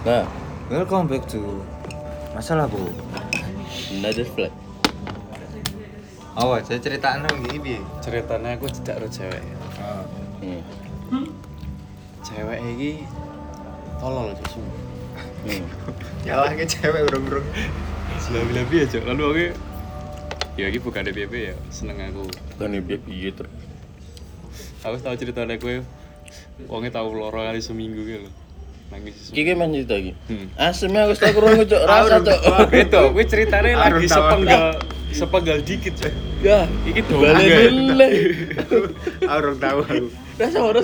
Nah, Welcome back to Masalah Bu. another flag. Awas, saya ceritaan dong gini. Ceritanya aku tidak ro cewek. Cewek iki tolol susu. Ya lah ke cewek urung-urung. Lebih-lebih aja. Lalu aku ya iki bukan DPP ya, seneng aku. Bukan ibu gitu. Aku tahu ceritanya gue. Wonge tau loro kali seminggu gitu lho. Nangis susu. Iki men cerita iki. Asemnya aku tak kurang cok rasa cok. Beto, gue ceritanya lagi sepenggal dikit cok. Ya, Iki balik-balik. Urung tahu aku. Rasa terus.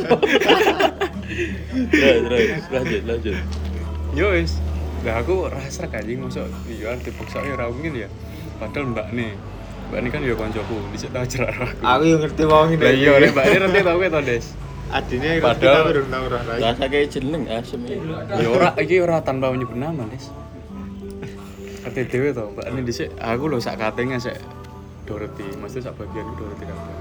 Lanjut. Yo wis. Lah aku rasa anjing mosok iya dipaksa ya ora mungkin ya. Padahal Mbak nih kan ya koncoku, dhisik tau jerak aku. Aku yang ngerti wong ini. Lah iya, Mbak ini nanti tau ke to, Des. Adine Padahal- urung tahu roh lagi. Rasa kayak jeneng asem iki. Ya iki ora tanpa menyebut nama, Des. Kate dhewe to, Mbak ini dhisik aku lho sak katenge sik Dorothy, maksudnya sak bagian Dorothy kabeh.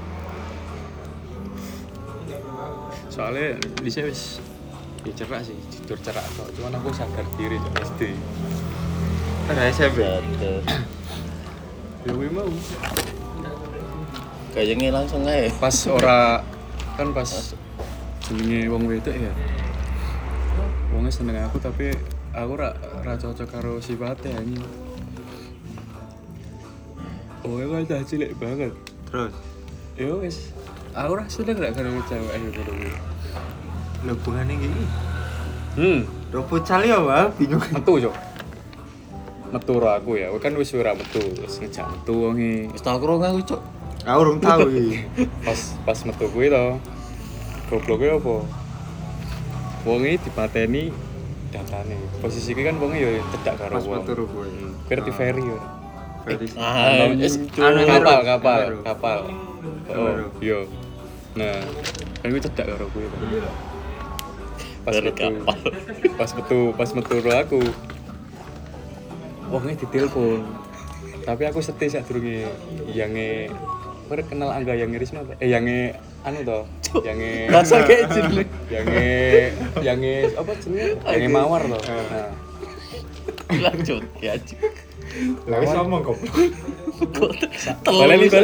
Soalnya dhisik wis ya cerak sih, jujur cerak kok. Cuman aku sadar diri cok SD. Ada SMP. Terus Ya kuwi mau. kayaknya langsung aja. Pas ora kan pas jenenge wong wedok ya. Wongnya seneng aku tapi aku ora cocok karo sifatnya anjing. Oh, emang dah cilik banget. Terus Ya wis. Aku ora seneng gak karo cewek ayo kuwi. hubungane iki. Robo Ropo ya, Wah, bingung. metu, Cok. Metu ro aku ya. Kan wis ora metu, terus ngejak metu wonge. Wis tak kurang aku cok. Aku urung tahu iki. Pas metu kuwi to. Gobloke apa? Wonge dipateni datane. Posisi kuwi kan wonge ya cedak karo Pas wong. metu ro kowe. Verti ferry ya. Berarti Kapal. Oh, iya. Nah, kan gue cedak karo kuwi. Dari kapal. Pas metu ro aku. Wongnya ditelepon. Tapi aku setia sak durunge yange kenal Angga yang Risma apa? Yange anu to, yange Rasa kayak jeneng. yange apa jenenge? Yange Mawar to. Nah, Lanjut ya. Lah wis ngomong kok. baleni.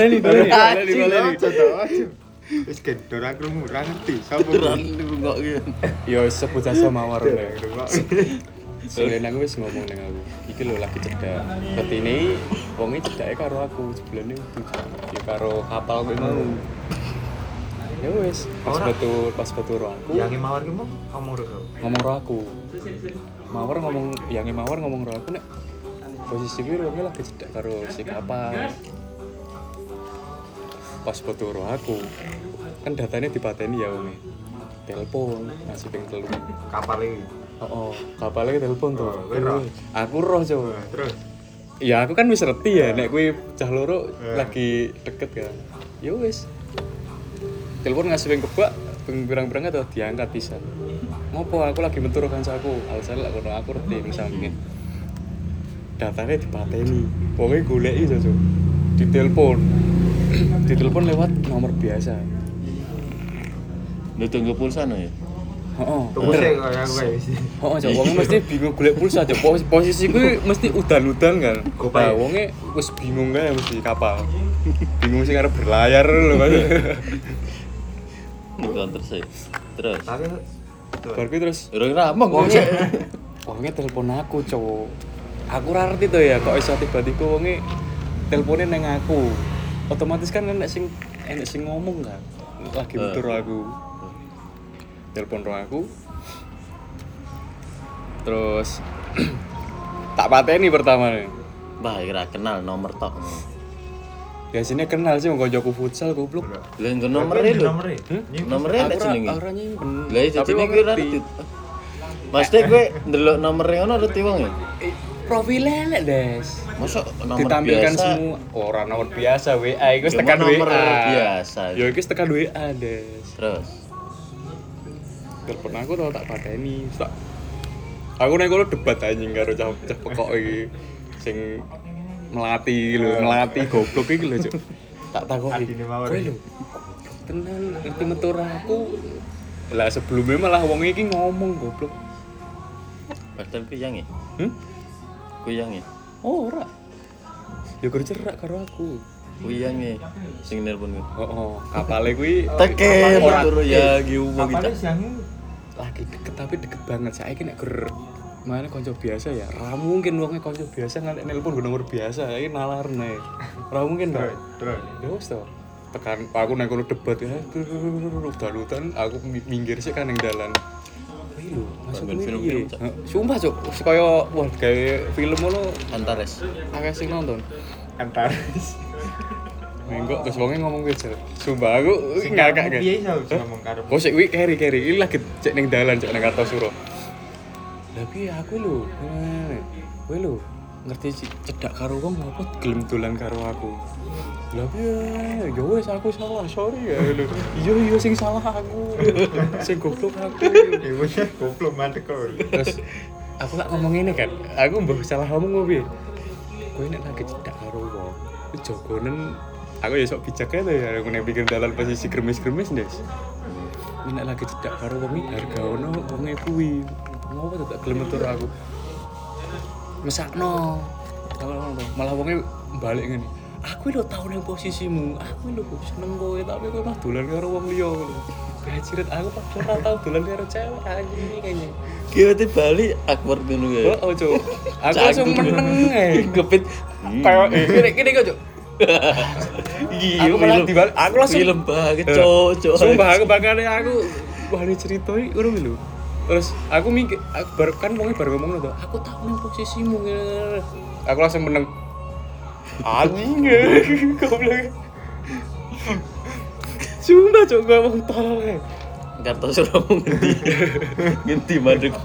Wis gendor aku ora ngerti sapa Beneran kuwi. lu kok gitu. yo sebut saja Mawar ya. Rungok. Soalnya aku wis ngomong ning aku. Iki lho lagi cedak. Ketine wonge cedake karo aku sebelane itu. Ya karo kapal kuwi mau. Ya wis, pas betul ro aku. Yang mawar ki mau ngomong ro. Ngomong ro aku. Yange Mawar ngomong ro aku nek posisi gue wonge lagi cedak karo si kapal. Pas betul ro aku. Kan datanya dipateni ya wonge. Telepon ngasih ping 3. Kapal iki. Oh, kapalnya telepon tuh. Oh, kowe roh? Aku roh coba. Terus Ya aku kan wis ngerti ya, nek kowe cah loro lagi deket kan. Ya wis. Telepon ngasih ping kebak, ping pirang-pirang atau diangkat pisan. Ngopo aku lagi metu karo kancaku. Alasan lek kono aku ngerti ning sampinge. Datane dipateni. Wonge goleki Cok. Ditelepon lewat nomor biasa. Lu tunggu pulsa no ya? Heeh. tunggu sih kaya aku kayak wis. Oh, Cok, wonge mesti bingung golek pulsa, Cok. Posisi kuwi mesti udan-udan kan. Gopai. Nah, wonge wis bingung kae mesti kapal. Bingung sing arep berlayar lho, Mas. Bukan terus ya. Terus. Tapi Bar kuwi terus Urung ramong wonge telepon aku, Cok. Aku ora ngerti to ya kok iso tiba-tiba wonge telepone nang aku. Otomatis kan enek sing ngomong kan. Lagi metur aku. Telepon ro aku. Terus tak pateni pertama nih. Bah, kira kenal nomor tok. Biasanya kenal sih mau koncoku futsal goblok. Lah nggo nomere lho. Nomere nek jenenge. Ora nyimpen. Lah iya jenenge kuwi ora ngerti. Pasti kowe ndelok nomere ngono ngerti wong ya? Profilnya lek, Des. Mosok nomor Ditampilkan biasa. semua orang nomor biasa WA iku wis Ya, tekan nomor WA. biasa. Ya iku wis tekan WA, Des. Terus. Telepon aku tau tak pateni. Tak aku nek kono debat anjing karo cah pekok iki sing melati goblok iki lho, Cuk. Tak takoki. Adine mawar. Kowe lho. Tenan ngerti metu aku. Lah sebelumnya malah wong iki ngomong goblok. Padahal kuyang ya. Hmm? Kuyang ya. Oh, ora. Ya gur cerak karo aku. Kuyang ya. Sing nelpon gue. Kapale kuwi Teke ora- turu ya giu Kapalnya gitu. siangnya lagi deket tapi deket banget. Saiki nek gur mana konco biasa ya. Ra mungkin wonge konco biasa ngalek nelpon gue nomor biasa. Saiki nalarne. Ra mungkin to. terus. Ya wis to. Tekan aku nang kono debat ya. Udan-udan aku minggir sik kan ning dalan. Kuwi lho, masuk Bangun kuwi film-film, piye? Cak. Sumpah, Cuk. Kaya wah gawe film ngono Antares. akeh sing nonton. Antares. Enggak, terus wonge ngomong kuwi, Cuk. Sumpah aku ngakak kan. Piye iso ngomong karo. Kok sik kuwi keri. Iki lagi cek ning dalan cek nang Kartosuro. Lah piye aku lho. Kowe lho ngerti cedak karo wong apa gelem dolan karo aku. Lah piye? Ya wis aku salah, sorry ya lho. Iya sing salah aku. Sing goblok aku. Ya wis goblok mandek kok. Terus aku lak ngomong ini kan. Aku mbah salah ngomong piye? Kowe nek lagi cedak karo wong, jogonen aku ya sok bijak ae to ya aku nek pikir dalan posisi gremes-gremes Des. Nek lagi cedak karo wong iki harga ono wonge kuwi. Ngopo tak gelem metu aku. Mesakno. Malah wonge balik ngene. Aku lho tau ning posisimu. Aku lho seneng kowe tapi kowe mah dolan karo wong liya ngono. Bajiret aku padahal ora tau dolan karo cewek anjing iki kayaknya. Kira balik awkward ngono ya. Oh, Cuk. Aku langsung meneng ae. Gepit. Kayak gini kok, Cuk. Iya, Aku malah dibalik. Aku langsung film banget, cocok. Sumpah aku bakane aku wah ini ceritoi ngono lho. Terus aku mikir aku baru kan wong baru ngomong lho, aku tau nang posisimu. Aku langsung meneng. Anjing. Goblok. Sumpah Cuk gak mau tolong ae. Kartosuro ngendi. Ngendi mandekku.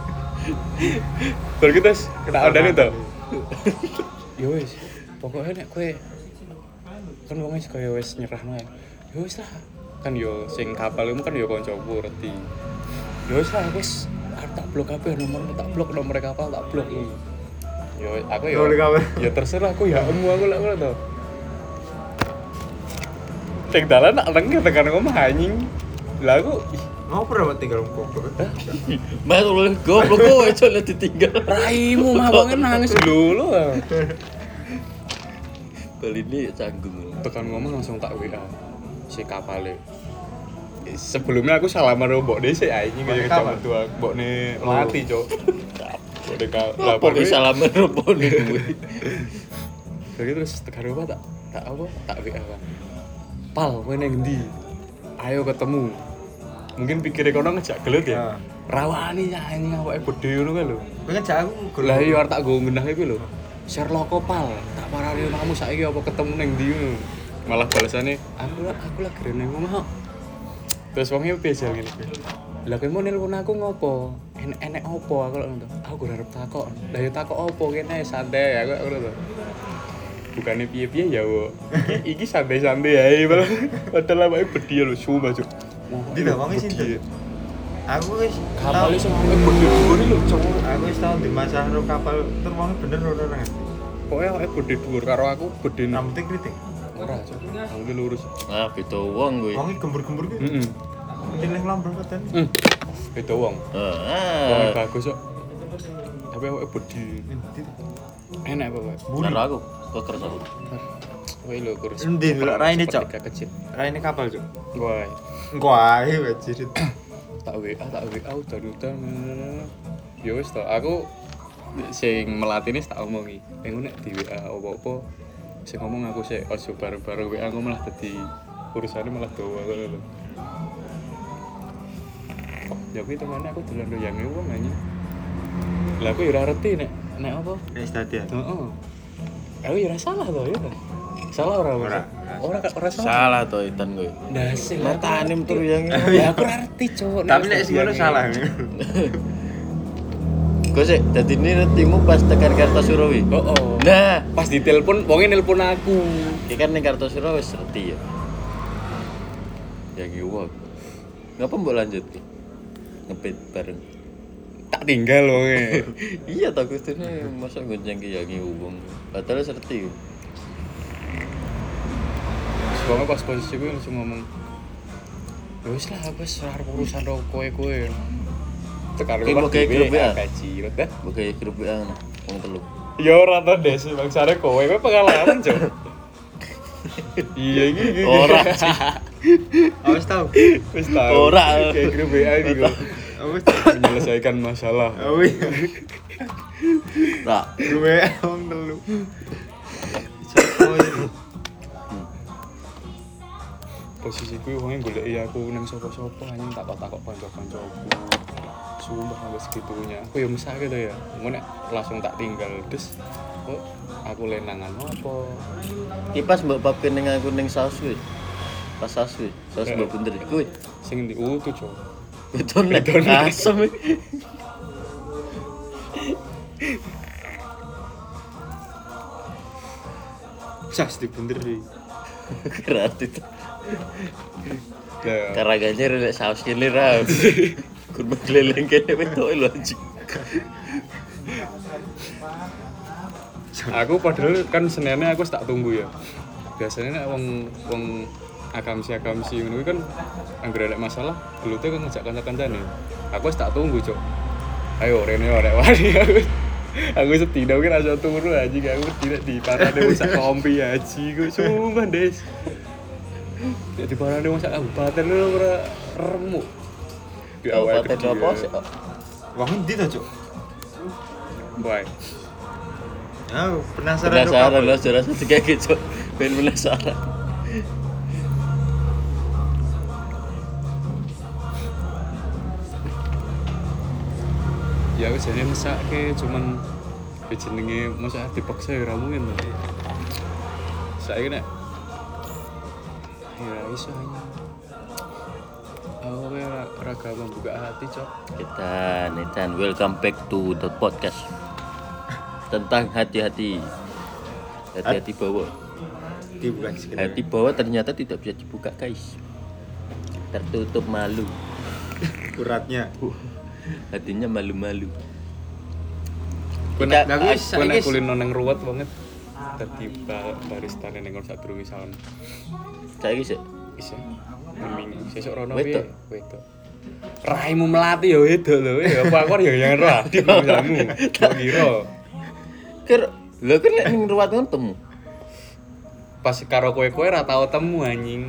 Baru kita kena andane to. Ya wis, pokoknya nek kowe kan wong wis kaya wis nyerahno ya. Ya wis lah. Kan yo sing kapal iku kan yo kancaku reti. Ya wis lah wis arep tak blok kabeh nomormu tak blok nomor kapal tak blok. Yo aku yo Nomor kapal. ya terserah aku ya aku lek ngono to. Tek dalan nak lengke tekan ngomong anjing. Lah aku Ngopo ora tinggal goblok. Mas lu goblok kowe coba ditinggal. raimu mah wong nangis lho. Bali ini canggung. Tekan ngomong langsung tak WA si kapale. Sebelumnya aku salaman karo mbok dhisik anjing kaya Kapan? kecamatan tua mbokne mati, Cuk. Mbokne lah Pokoknya salaman rupone kuwi. Jadi terus tekan apa tak apa tak WA kan. Pal, kowe nang ndi? Ayo ketemu. Mungkin pikirnya kono ngejak gelut ya. Rawani anjing awake gedhe ngono kan lho. Kowe ngejak aku Lah iya arep tak go ngenah iku lho. Sherlock Pal, tak parani kamu saiki apa ketemu ning ndi ngono. Malah balasane aku lagi rene ngomong. Terus wongnya biasa gini. Lah kowe mau nelpon aku ngopo? Enek opo aku lho ngono. Aku ora arep takok. Lah ya takok opo kene santai aku ngono to. Bukannya piye-piye ya, wo. Iki santai-santai ae malah. Padahal awake bedhi lho sumpah, Cuk. Di ta wong sinten? Aku wis Kapal iso bedhi dhuwur lho, Cuk. Aku wis tau di masalah karo kapal tur wong bener ora ora. Pokoke awake bedhi dhuwur karo aku bedhi Rambutnya kritik. ora, Cuk. Aku lurus. Ah, beda wong kuwi. Wonge gembur-gembur ki. Heeh. Pilih lambrong keten. Beda wong. Wong bagus kok. Tapi awake bedhi. Enak apa, Pak? Karo aku keker aku. Kowe lho kurus. Endi lho raine, Cok? Sepertiga kecil. Raine kapal, Cuk. Wah, Engko ae wajirit. tak WA udan-udan. Ya wis to, aku sing melatini tak omongi. Engko nek di WA apa-apa sing ngomong aku sik ojo bareng-bareng WA aku malah dadi urusane malah dawa ngono lho. Ya kuwi temane aku dolan loyange wong anjing. Lah aku ya ora ngerti nek apa. Nek stadion. Heeh. Aku ya ora salah to ya. Salah ora? Ora salah. Salah to Itan kowe. Ndase Matane metu yang Ya aku ora ngerti, Cuk. Tapi nek sing ngono salah. Kok sih dadi ini retimu pas tekan Kartosuro wi. Oh. Nah, Pas ditelepon, wonge nelpon aku. iki kan ning Kartosuro wis reti ya. Yang iwak. Ngapa mbok lanjut ki? Ngepit bareng. Tak tinggal wonge. Iya tak kustune masa gonceng ki yang iwak. Padahal serti. Soalnya pas posisi gue langsung ngomong, ya wis lah, wis ora urusan ro kowe. Tekan Ki rumah mbok gawe grup dhewe WA. gaji dah. Mbok gawe grup WA wong telu. Ya ora to Des, bangsane kowe pengalaman, Cuk. Iya iki. Ora. Awas tau. Wis tahu. Ora. Kayak grup WA iki kok. Awas. Menyelesaikan masalah. Oh iya. Ora. Gue wong telu. Posisiku wong goleki aku ning sapa-sapa anjing takok-takok kanca-kancaku. Sumpah sampai segitunya. Aku ya mesake to ya. Engko nek langsung tak tinggal des. Kok aku lenangan apa? Kipas mbok papke ning aku ning saus kuwi. Pas saus kuwi, saus mbok bunder kuwi. Sing ndi utuh, Cuk. Beton nek asem. Jas dibunderi. Berarti itu. Lah, Karaganya relek saus kene ra. Kurma keleleng kene wedok lho anjing. aku padahal kan senene aku tak tunggu ya. Biasanya nek wong akamsi ngono kuwi kan anggere ada masalah, gelute kan ngajak kanca-kancane. Aku wis tak tunggu, Cuk. Ayo rene ora wani aku. Aku setidaknya ki rasa turu anjing aku tidak di parane wis sak kompi haji ku sumpah, Des. Nek di parane wis sak kabupaten lho ora remuk. Di awal Kabupaten apa sih? Wong ndi to, Cuk? Baik. Ah, penasaran Penasaran lah saudara satu kayak gitu. Ben penasaran. Ya wis jane mesake cuman jenenge masak dipaksa ya ora mungkin to. Saiki nek ya iso hanya aku ora gampang buka hati, Cok. Kita welcome back to the podcast tentang hati-hati. Hati-hati bawah. Dibuka sekedar. Hati bawah ternyata tidak bisa dibuka, guys. Tertutup malu. Kuratnya. Hatinya malu-malu. Kowe nek Kita- kowe nek kulino nang ruwet banget. Dadi barista ning kon sadurunge salam. Saiki sih. Bisa. Mending sesuk rono Wedok. piye? Wedok. Raimu melati ya wedok lho. Ya apa aku ya yang roh di bangsamu. Kok kira. Ker, lho kan nek ning ruwat kan temu. Pas karo kowe-kowe ora tau temu anjing.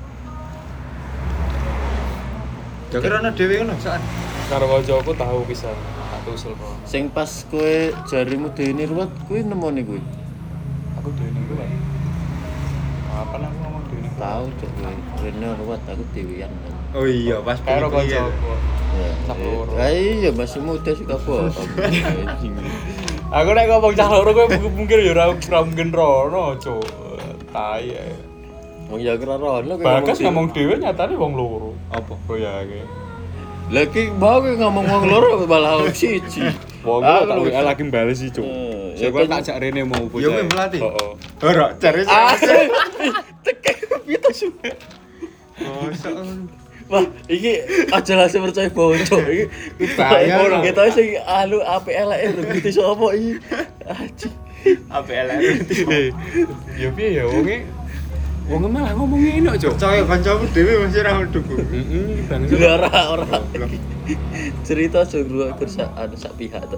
Ya kira ana dhewe ngono sak. Karo kancaku tahu pisan. Tak usul kok. Sing pas kowe jarimu dene ruwat kuwi nemoni kuwi. Aku dhewe kuwi. Apa nang ngomong dhewe? Tahu cok kowe. Rene ruwat aku dewean. Oh iya, pas Karo kuwi ya. kancaku. Ya. Cak loro. Iya masih muda suka bohong. Anjing. Aku nek ngomong cah loro kowe mungkin ya ora mungkin rono, Cuk. Tai ae. Wong ya kira rono kowe Bagas sih. ngomong dhewe nyatane wong loro. Apa? Koyake. Lagi mau kowe ngomong wong loro malah wong siji. Wong Ah, tak lu- WA lagi bales sih, Cuk. Ya Saya kan- tak jak rene mau bocah. Ya kowe melati. Heeh. Ora, cari Asli. Tekek piye su. Oh, sok. Wah, iki aja langsung percaya bocor iki. Bahaya, Orang lho. kita sing alu APLR ngerti sapa iki. Anjing. Apa elek iki? Ya piye ya wonge malah ngomong ngene, Cuk. Percaya kancamu dhewe masih ora mendukung. Heeh, bangsa. Ora. Cerita jogro kersa ada sak pihak to.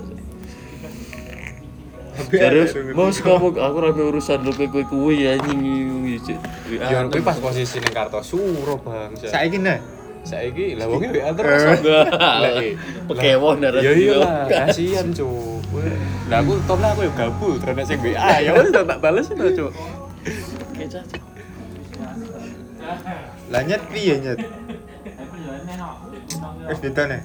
Terus mau ngomong aku rame urusan lu kowe kuwi anjing iki. Ya kuwi pas posisi ning Kartosuro, bangsa. Saiki nah. Saiki lah wonge WA terus. Lah Pekewon darah. ya iyalah, kasihan, Cuk. Lah aku topnya aku ya gabut, terus sing WA ya wis tak bales to, Cuk. Lah nyet piye nyet? Wis ditane.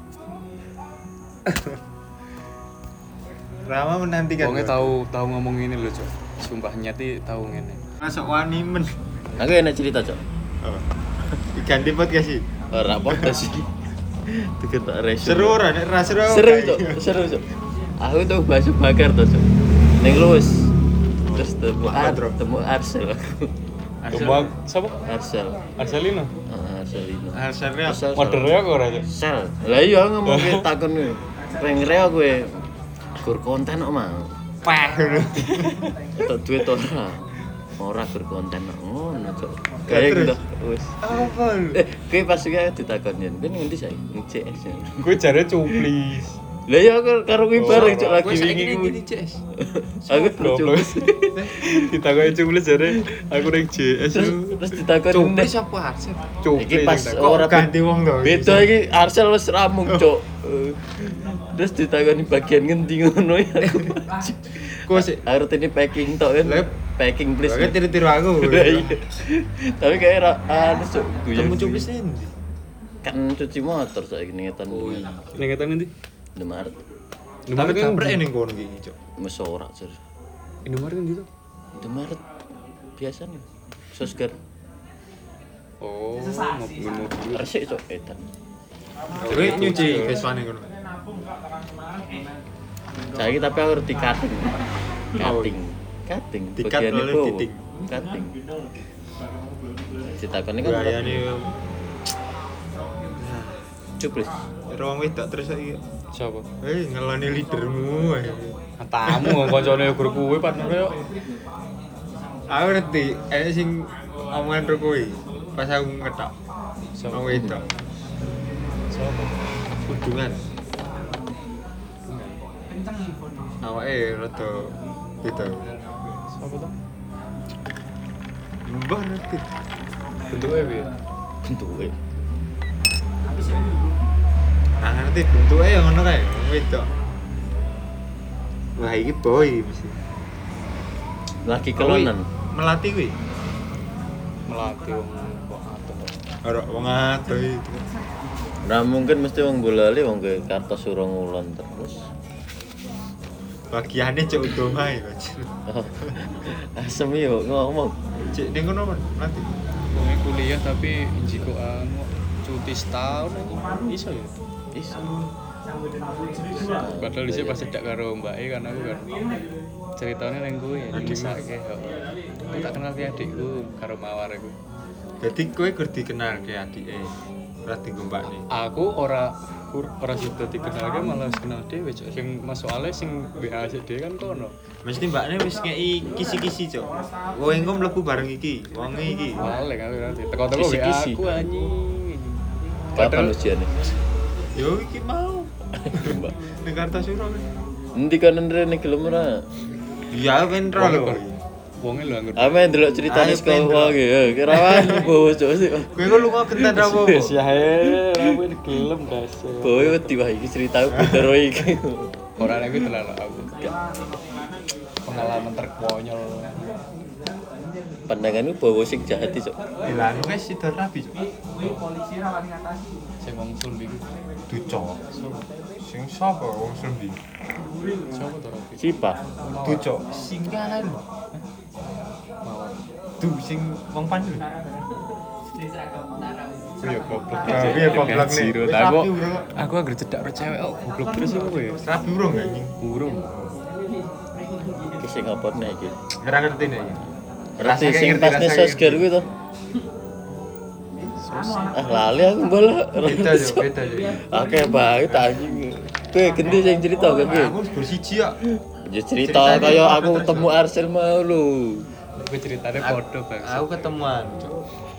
Rama menantikan. Wonge tahu ngomong ngene lho, Cuk. Sumpah nyati tahu ngene. Masuk wani men. Aku enak cerita, Cok. Oh. Diganti podcast sih. Ora podcast iki. Deket tak resume. Seru ora nek ra seru. Seru, Cok. Seru, Cok. Aku tuh bakso bakar tuh, Cok. Ning Luwes. Terus temu Arsel aku. Kembang sapa? Arsel. Arselino. Arselino. Hasilnya Arsel. Modere kok ora, Cuk. Sel. Lah iya ngomong ke takon kowe. Reng reo kowe. Gur konten kok mau. pah. Tok duit ora. ora berkonten ngono cok. Kayak gitu. Wis. Apa lu? Kowe pas iki ditakoni, "Ben ngendi sae?" Ning CS. Gue jare cuplis. Lah ya karo kuwi bareng cok lagi Gue saiki wingi ning kuwi. ndi, CS? Aku Goblok. cuplis. Ditakoni cuplis jare aku ning JS. Terus ditakoni Cuplis apa Arsen? Cuplis. Iki pas yang Kok ora ganti wong to? beda iki Arcel wis ramung cok. Terus ditakoni bagian ngendi ngono ya. Kok sih? Harus ini packing tok kan. Lep. Packing please. Oke tiru-tiru aku. Lah, iya. Tapi kayak anu cok Kamu cuplis ndi? kan cuci motor saiki ning etan. Ning ngetan nanti. Indomaret. Tapi kampret ning kono iki, Cok. Wis ora jur. Indomaret kan gitu. Indomaret biasa nih. Sosger. Oh, mobil-mobil. Resik cok etan. Kowe nyuci Vespa-ne kono. Saiki tapi aku ngerti cutting. Cutting. Di cut Bagiannya oleh bawah. fitting. Cutting. Ditakoni kan Gayane cuplis. wong wedok terus saiki. Siapa? Ngeloni leadermu. Tamu koncone guru kuwe partner yo. Aku ngerti, sing omongan ro kowe. Pas aku ngetok. Wong wedok. Siapa? Hubungan. Awake rada beda. Siapa tuh? Mbah ngerti. Bentuknya piye? Bentuke. Nah ngerti bentuke ya ngono kae, wong wedok. Wah iki boy mesti. Lagi kelonan. Melati kuwi. Melatih wong kok atur. Ora wong ado itu. Nah mungkin mesti wong bolali wong ke Kartosuro ngulon terus. Bagiane cek utama ya, Mas. Asem yo ngomong. Cek ning kono nanti. Wong kuliah tapi jiko anu cuti setahun aja iso ya. Iso. Padahal dhisik pas cedak karo Mbak E kan aku kan ceritanya nang kowe ya nyesake kok. Aku tak kenal ki adikku karo Mawar iku. Jadi kowe gur dikenal ke adike. Ora digombakne. Aku ora sudah dikenal ke malah kenal dhewe cok. Sing soalnya sing WA sik dhewe kan kono. Mesti mbakne wis ngeki kisi-kisi, Cok. Kowe engko mlebu bareng iki, wong iki. Paling aku nanti teko-teko WA Kisi-kisi. aku anjing. Kapan ujiannya? Yo iki mau. Ning Kartosuro. Nanti kan rene gelem ora. Iya ben ro lho. Wonge lho anggur. Ame ndelok ceritane Ayo, saka Pendro. wong ya. Kira wani bawa cok sih. Kowe kok lunga genten ra apa? Wis ya aku ini gelem dasar. Bawa wedi wah iki cerita beda ro iki. Ora nek kuwi terlalu aku. Pengalaman terkonyol. Pandanganmu bawa sing jahat cok. Lah anu wis sido rabi, Cok. Sing wong Sulbi ku. Ducok. Sing sapa wong Sumbi? Siapa to Robi? Sipa. Ducok. Singgalan. Mawar. Du sing wong pandu. Iya goblok. Iya goblok nih. Zero. Wis Aku rapi, Bro. aku anggere cedak karo cewek kok goblok terus iku kowe. Rabi urung anjing. Burung. Iki sing ngapotne iki. Ora ngerti nek. Berarti sing pas sosger kuwi to. Lali aku bola. Beda yo, beda yo. Oke, banget anjing. Kowe gendi sing cerita gak kowe? Aku bersiji ya. Ya cerita kaya aku ketemu Arcel mau lho. Kowe ceritane padha bang. Aku ketemuan, Cok.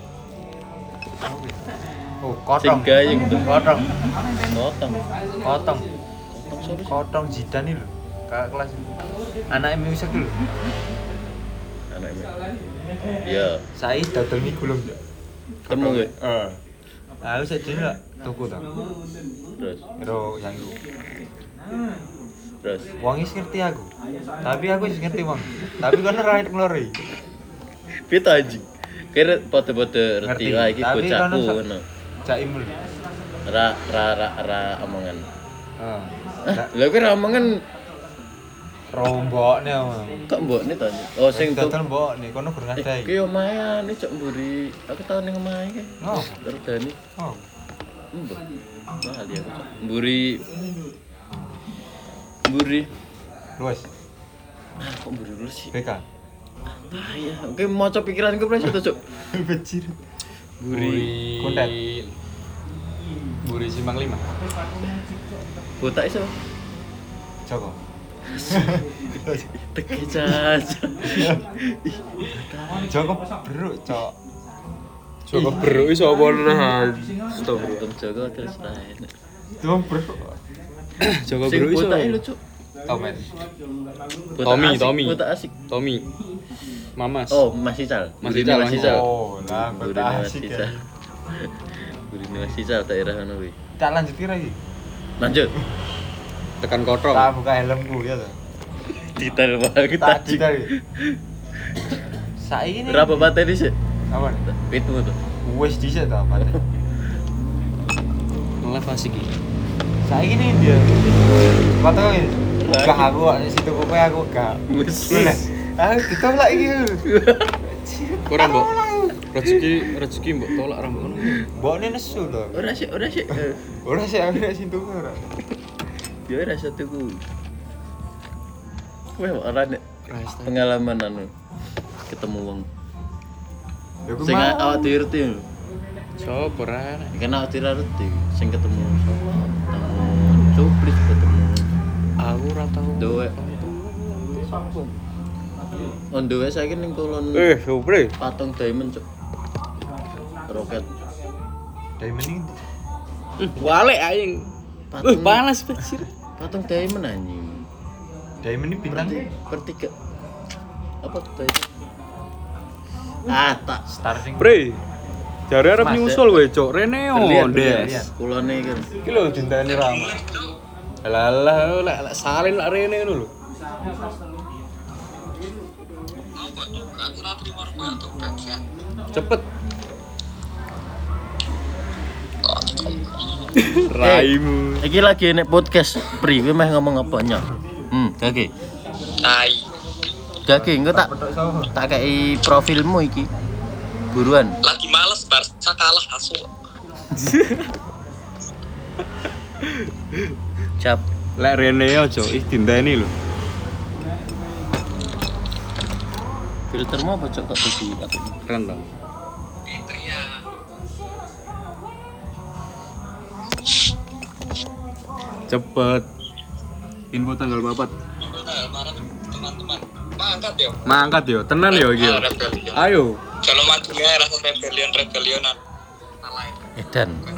Oh, Sing kotong. gayeng tuh. Kotong. Potong. Kotong. Kotong Zidane lho. Kakak kelas. Anake musik lho. Anaknya. Ya, Saya dodol mie gulung, Cok. ketemu gue. Aku sak dene lak tuku ta. Terus, Karo yang iku. terus. Wong wis ngerti aku. Tapi aku wis ngerti wong. Tapi kono ora nglori. Pita anjing. Kira podo-podo Ngerti. reti wah iki Tapi bocahku kono ngono. Jaim lho. Ra omongan. Heeh. Lha kira omongan Rombokne omong. kok mbokne to anjing? Oh sing tuh. dodol mbokne kono gur ngadai. Ki omahe ane cok mburi. Aku tau ning omahe ki. Oh. Terdani. Oh. Mbok. Mahal ya aku cok. Mburi. Luwes. Kok mburi dulu sih? BK. Ah iya, oke maca pikiranku pres to cok. Becir. Buri Konten. Buri Simpang 5. Botak iso. Joko. Teki caca. Joko beruk, Cok. Joko Beruk iso apa nah. Stop. Untung Joko terus lain. Joko beruk. Joko Sing Beruk iso. botak lucu. Tomen. Tommy. Botak asik. Tommy. Mamas. Oh, Mas Ical. Mas Burine Ical, Mas Ical. Oh, lah Burine kota Mas asik Ical. ya. Burine Mas Ical daerah ngono kuwi. Tak lanjut kira iki. Lanjut. Tekan kotrong. Tak buka helmku ya toh. Detail banget Tak anjing. detail. Saiki ini. Berapa bate dhisik? Apa? Pitmu tuh. Wes dhisik ta, Pak. Ngelaf asik iki. Saiki ini dia. Kata ini. Gak aku di situ kowe aku gak. Lah, aku ditolak iki. Ora mbok. Rezeki mbok tolak ra mbok ngono. Mbokne nesu to. Ora sih. Ora sih aku nek situ ora. Ya ora satuku. Kowe ora nek Ras. pengalaman anu ketemu wong Ya ku sing mau. awak dhewe ngerti lho. Sopo ra? Kan awak dhewe ngerti sing ketemu sapa? Ketemu cuplis ketemu Aku ora tau. Doe. On the way saiki ning kulon Supre. patung diamond cuk. Roket. Diamond ini. Wale aing. Patung Panas becir. patung diamond anjing. Diamond ini bintang Pertiga. Apa tuh? Ah, tak. starting. Bre. Jare arep Mas, nyusul kowe, Cuk. Reneo, Berlian. Des. Kulone kan. Iki lho dinteni Rama. Alah, lek salin lek rene ngono lho. Cepet. Raimu. Iki lagi nek podcast Pri, kowe meh ngomong apa nya? Gage. Tai. Gage, engko tak Petok sapa? tak kei profilmu iki. Buruan. Lagi males Barca kalah asu. Cap. Lek rene aja ih dinteni lho. Filtermu apa cok kok dadi apa? Keren to. Cepet. Info tanggal 4. Teman-teman. Mangkat yo. Mangkat yo, tenan yo iki. yo. Rebellion. Ayo. Kalau maju ya rasa rebellionan. Alay. Edan.